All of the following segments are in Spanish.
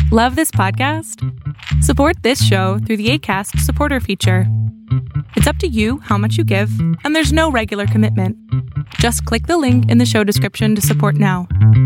Love this podcast? Support this show through the Acast supporter feature. It's up to you how much you give, and there's no regular commitment. Just click the link in the show description to support now.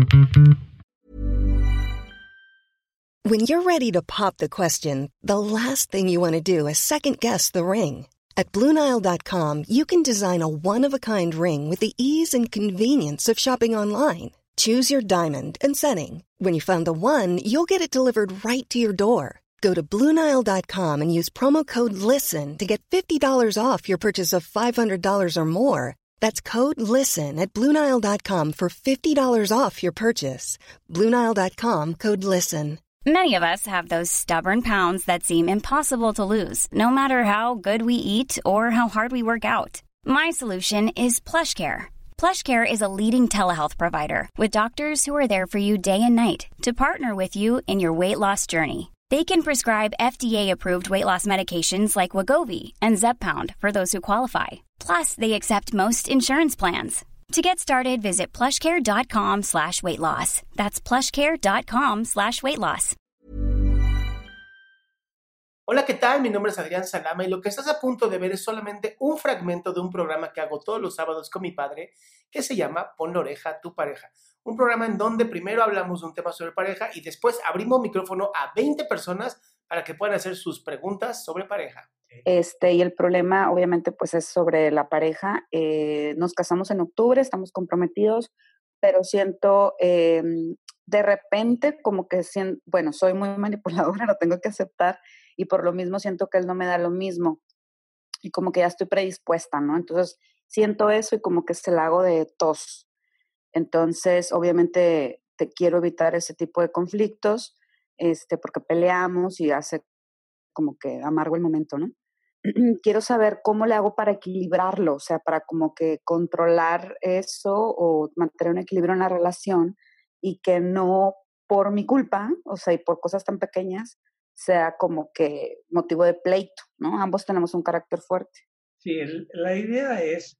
When you're ready to pop the question, the last thing you want to do is second-guess the ring. At BlueNile.com, you can design a one-of-a-kind ring with the ease and convenience of shopping online. Choose your diamond and setting. When you find the one, you'll get it delivered right to your door. Go to BlueNile.com and use promo code LISTEN to get $50 off your purchase of $500 or more. That's code LISTEN at BlueNile.com for $50 off your purchase. BlueNile.com, code LISTEN. Many of us have those stubborn pounds that seem impossible to lose, no matter how good we eat or how hard we work out. My solution is PlushCare. PlushCare is a leading telehealth provider with doctors who are there for you day and night to partner with you in your weight loss journey. They can prescribe FDA-approved weight loss medications like Wegovy and Zepbound for those who qualify. Plus, they accept most insurance plans. To get started, visit plushcare.com/weightloss. That's plushcare.com/weightloss. Hola, ¿qué tal? Mi nombre es Adrián Salama y lo que estás a punto de ver es solamente un fragmento de un programa que hago todos los sábados con mi padre que se llama Pon la oreja a tu pareja. Un programa en donde primero hablamos de un tema sobre pareja y después abrimos micrófono a 20 personas para que puedan hacer sus preguntas sobre pareja. Y el problema obviamente pues es sobre la pareja. Nos casamos en octubre, estamos comprometidos, pero siento de repente como que, bueno, soy muy manipuladora, lo tengo que aceptar y por lo mismo siento que él no me da lo mismo y como que ya estoy predispuesta, ¿no? Entonces siento eso y como que se la hago de tos. Entonces obviamente te quiero evitar ese tipo de conflictos, porque peleamos y hace como que amargo el momento, ¿no? Quiero saber cómo le hago para equilibrarlo, o sea, para como que controlar eso o mantener un equilibrio en la relación y que no por mi culpa, o sea, y por cosas tan pequeñas, sea como que motivo de pleito, ¿no? Ambos tenemos un carácter fuerte. Sí, la idea es,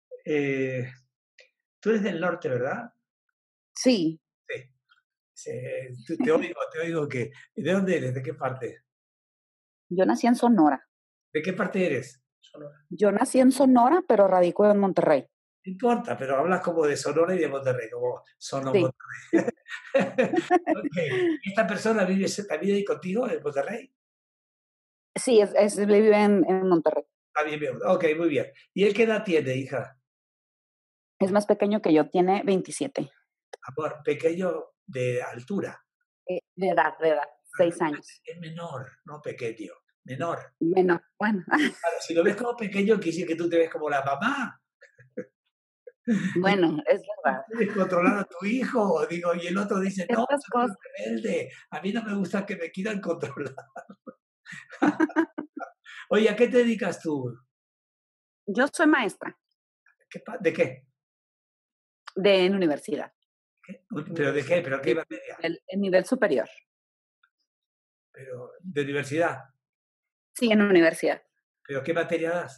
tú eres del norte, ¿verdad? Sí. Sí. Te oigo que, ¿de dónde eres? ¿De qué parte? Yo nací en Sonora. ¿De qué parte eres? Sonora. Yo nací en Sonora, pero radico en Monterrey. No importa, pero hablas como de Sonora y de Monterrey, como Sono Sí. Monterrey. Okay. ¿Esta persona también ahí contigo en Monterrey? Sí, vive en Monterrey. Ah, bien. Ok, muy bien. ¿Y él qué edad tiene, hija? Es más pequeño que yo, tiene 27. Amor, pequeño de altura. De edad, 6 años. Es menor, no pequeño, menor. Menor, bueno. Claro, si lo ves como pequeño, quiere decir que tú te ves como la mamá. Bueno, es verdad. ¿Quieres controlar a tu hijo? Digo, y el otro dice, no, Estas soy cosas. rebelde. A mí no me gusta que me quieran controlar. Oye, ¿a qué te dedicas tú? Yo soy maestra. ¿De qué? En universidad. ¿Pero de qué? ¿Pero qué materia? En nivel superior. ¿Pero de universidad? Sí, en universidad. ¿Pero qué materia das?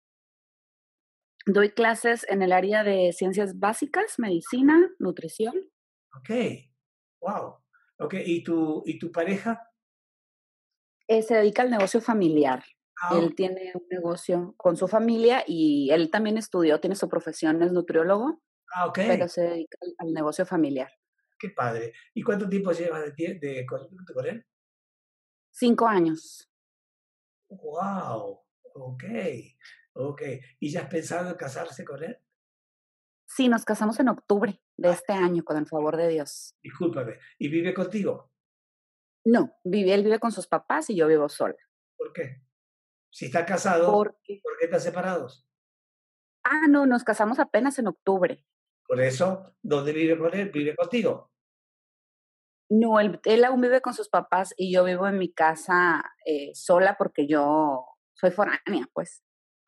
Doy clases en el área de ciencias básicas, medicina, nutrición. Ok, wow. Ok, ¿y tu pareja? Se dedica al negocio familiar. Él tiene un negocio con su familia y él también estudió, tiene su profesión, es nutriólogo, Ok. pero se dedica al negocio familiar. Qué padre. ¿Y cuánto tiempo llevas con él? 5 años. Wow, ok. ¿Y ya has pensado en casarse con él? Sí, nos casamos en octubre de este año, con el favor de Dios. Discúlpame. ¿Y vive contigo? No, él vive con sus papás y yo vivo sola. ¿Por qué? Si está casado, ¿por qué están separados? No, nos casamos apenas en octubre. Por eso, ¿dónde vive con él? ¿Vive contigo? No, él aún vive con sus papás y yo vivo en mi casa sola porque yo soy foránea, pues.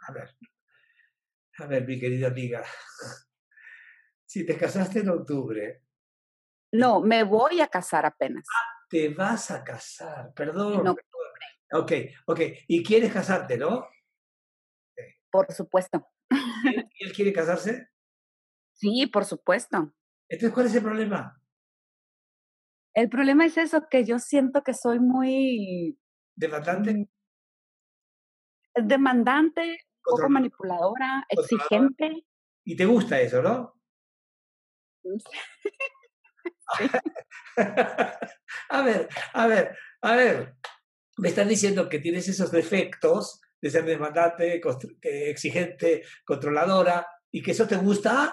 A ver, mi querida amiga, si te casaste en octubre. No, me voy a casar apenas. Te vas a casar, perdón. En octubre. Ok. ¿Y quieres casarte, no? Por supuesto. ¿Y él quiere casarse? Sí, por supuesto. Entonces, ¿cuál es el problema? El problema es eso, que yo siento que soy muy ¿Demandante? demandante, poco Controlador. manipuladora, exigente. Y te gusta eso, ¿no? Sí. A ver. Me estás diciendo que tienes esos defectos de ser demandante, exigente, controladora, y que eso te gusta.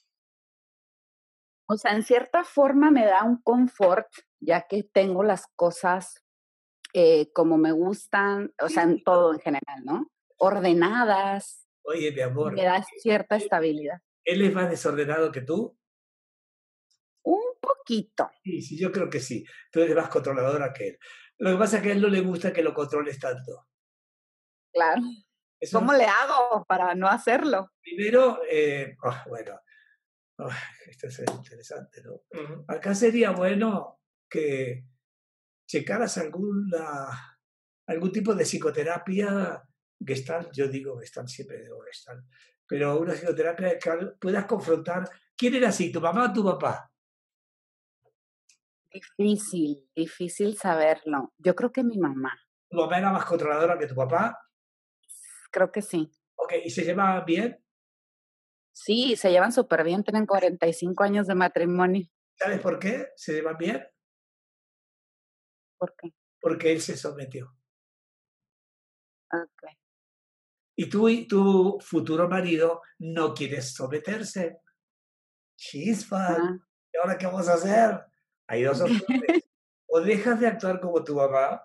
O sea, en cierta forma me da un confort, ya que tengo las cosas como me gustan, o sea, en todo en general, ¿no? Ordenadas, Oye, mi amor, me da cierta estabilidad. ¿él es más desordenado que tú? Un poquito. Sí, yo creo que sí. Tú eres más controladora que él. Lo que pasa es que a él no le gusta que lo controles tanto. Claro. Eso, ¿Cómo le hago para no hacerlo? primero, bueno, esto es interesante, ¿no? Acá sería bueno que checaras algún tipo de psicoterapia Gestalt. Yo digo Gestalt, siempre digo Gestalt, pero una psicoterapia que puedas confrontar. ¿Quién era así, tu mamá o tu papá? Difícil saberlo. Yo creo que mi mamá. ¿Tu mamá era más controladora que tu papá? Creo que sí. Ok, ¿y se llevaban bien? Sí, se llevan súper bien, tienen 45 años de matrimonio. ¿Sabes por qué se llevan bien? ¿Por qué? Porque él se sometió. Ok. Y tú y tu futuro marido no quieres someterse. Chispa. Ah, ¿Y ahora qué vamos a hacer? Hay dos opciones. O dejas de actuar como tu mamá,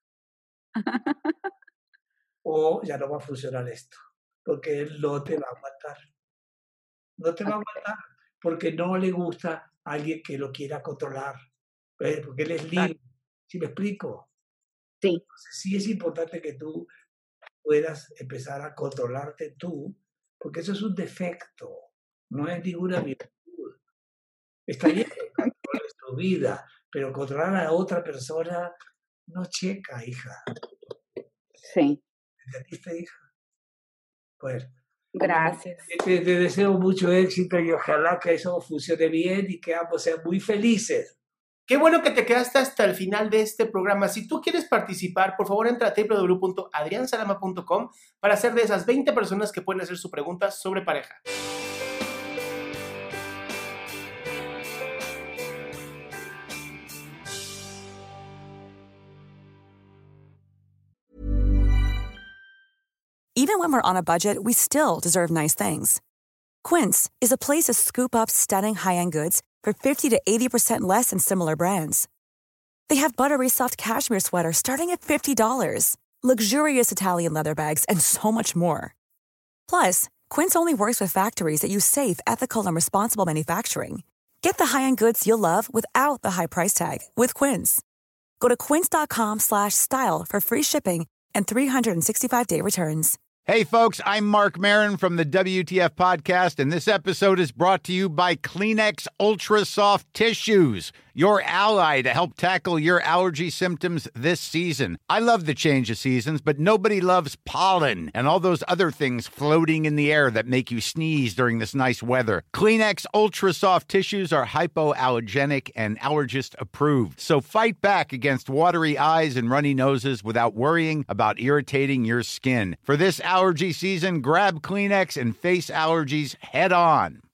o ya no va a funcionar esto. Porque él no te va a aguantar. No te va a ok. aguantar. Porque no le gusta a alguien que lo quiera controlar. Porque él es libre. ¿Sí me explico? Sí, Entonces, sí es importante que tú puedas empezar a controlarte tú, porque eso es un defecto, no es ninguna virtud. Está bien que controles tu vida, pero controlar a otra persona no checa, hija. sí. ¿Entendiste, hija? Pues Gracias. te deseo mucho éxito y ojalá que eso funcione bien y que ambos sean muy felices. Qué bueno que te quedaste hasta el final de este programa. Si tú quieres participar, por favor entra a www.adriansalama.com para ser de esas 20 personas que pueden hacer su pregunta sobre pareja. Even when we're on a budget, we still deserve nice things. Quince is a place to scoop up stunning high-end goods for 50 to 80% less than similar brands. They have buttery soft cashmere sweaters starting at $50, luxurious Italian leather bags, and so much more. Plus, Quince only works with factories that use safe, ethical, and responsible manufacturing. Get the high-end goods you'll love without the high price tag with Quince. Go to quince.com/style for free shipping and 365-day returns. Hey, folks, I'm Mark Maron from the WTF Podcast, and this episode is brought to you by Kleenex Ultra Soft Tissues, your ally to help tackle your allergy symptoms this season. I love the change of seasons, but nobody loves pollen and all those other things floating in the air that make you sneeze during this nice weather. Kleenex Ultra Soft Tissues are hypoallergenic and allergist approved, so fight back against watery eyes and runny noses without worrying about irritating your skin. For this allergy season, grab Kleenex and face allergies head on.